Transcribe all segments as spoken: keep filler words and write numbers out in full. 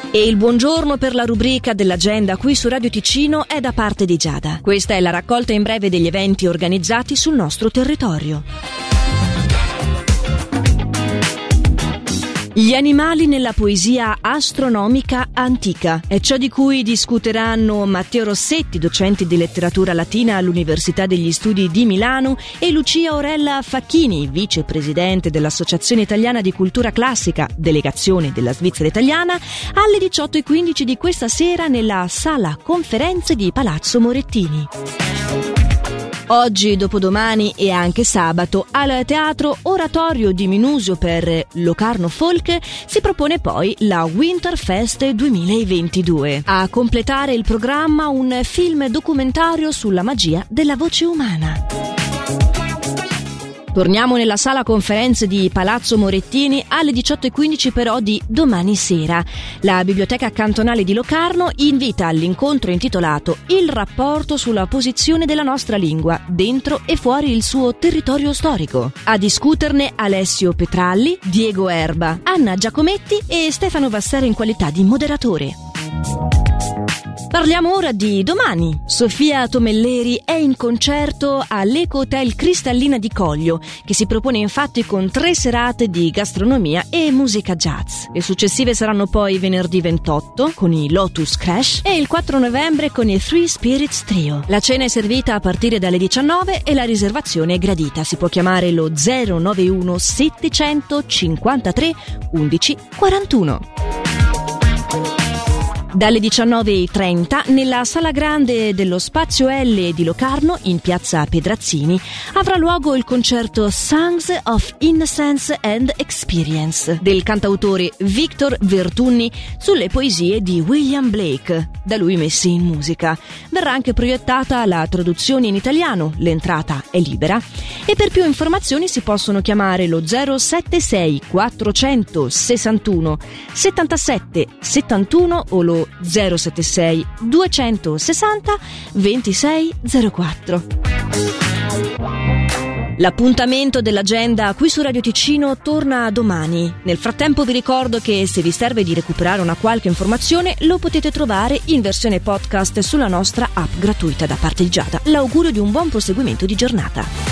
E il buongiorno per la rubrica dell'agenda qui su Radio Ticino è da parte di Giada. Questa è la raccolta in breve degli eventi organizzati sul nostro territorio. Gli animali nella poesia astronomica antica è ciò di cui discuteranno Matteo Rossetti, docente di letteratura latina all'Università degli Studi di Milano, e Lucia Orella Facchini, vicepresidente dell'Associazione Italiana di Cultura Classica, delegazione della Svizzera Italiana, alle diciotto e quindici di questa sera nella sala conferenze di Palazzo Morettini. Oggi, dopodomani e anche sabato al Teatro Oratorio di Minusio per Locarno Folk si propone poi la Winterfest duemilaventidue. A completare il programma un film documentario sulla magia della voce umana. Torniamo nella sala conferenze di Palazzo Morettini alle diciotto e quindici però di domani sera. La Biblioteca Cantonale di Locarno invita all'incontro intitolato Il rapporto sulla posizione della nostra lingua dentro e fuori il suo territorio storico. A discuterne Alessio Petralli, Diego Erba, Anna Giacometti e Stefano Vassera in qualità di moderatore. Parliamo ora di domani. Sofia Tomelleri è in concerto all'Eco Hotel Cristallina di Coglio, che si propone infatti con tre serate di gastronomia e musica jazz. Le successive saranno poi venerdì ventotto con i Lotus Crash e il quattro novembre con i Three Spirits Trio. La cena è servita a partire dalle diciannove e la riservazione è gradita. Si può chiamare lo zero nove uno settecentocinquantatré undici quarantuno. Dalle diciannove e trenta nella Sala Grande dello Spazio L di Locarno, in piazza Pedrazzini, avrà luogo il concerto Songs of Innocence and Experience del cantautore Victor Vertunni sulle poesie di William Blake, da lui messe in musica. Verrà anche proiettata la traduzione in italiano, l'entrata è libera e per più informazioni si possono chiamare lo zero sette sei quattrocentosessantuno settantasette settantuno o lo zero sette sei duecentosessanta ventisei zero quattro. L'appuntamento dell'agenda qui su Radio Ticino torna domani. Nel frattempo vi ricordo che se vi serve di recuperare una qualche informazione lo potete trovare in versione podcast sulla nostra app gratuita da parte di Giada. L'augurio di un buon proseguimento di giornata.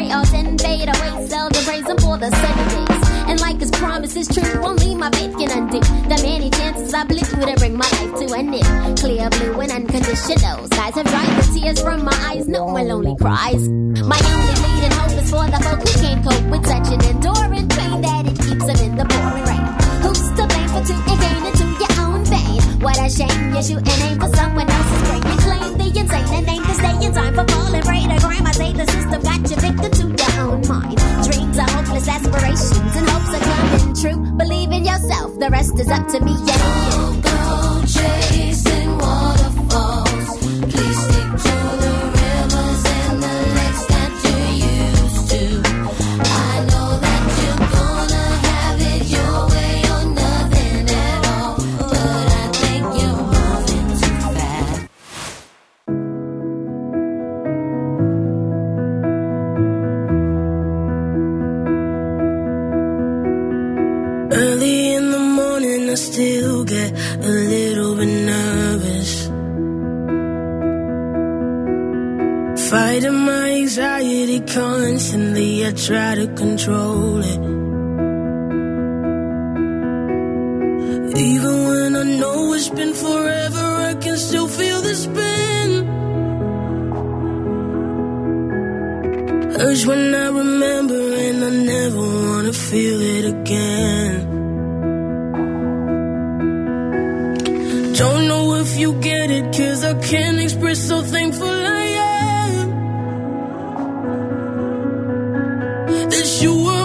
they all then fade away. Seldom praise him for the sunny days. And like his promise is true, only my faith can undo the many chances I blew to bring my life to an end. Clear blue and unconditional skies have dried the tears from my eyes. No one lonely cries. My only leading hope is for the folk who can't cope with such an enduring pain that it keeps them in the pouring rain. Who's to blame for two and gain into your own vein? What a shame you shoot and aim for someone else's brain. You claim the insane and aim to stay in time for falling prey to crime. I say the system got you victim to your own mind. Dreams are hopeless aspirations and hopes are coming true. Believe in yourself, the rest is up to me. Yeah, don't go chasing waterfalls. Please stick to the rivers and the lakes that you're used to. I know that you're gonna have it your way or nothing at all, but I think you're moving too fast. Early in the morning I still get a little bit nervous, fighting my anxiety constantly. I try to control it, even when I know it's been forever, I can still feel the spin. Urge when I remember and I never wanna feel it again. Don't know if you get it, cause I can't express how thankful I am that you were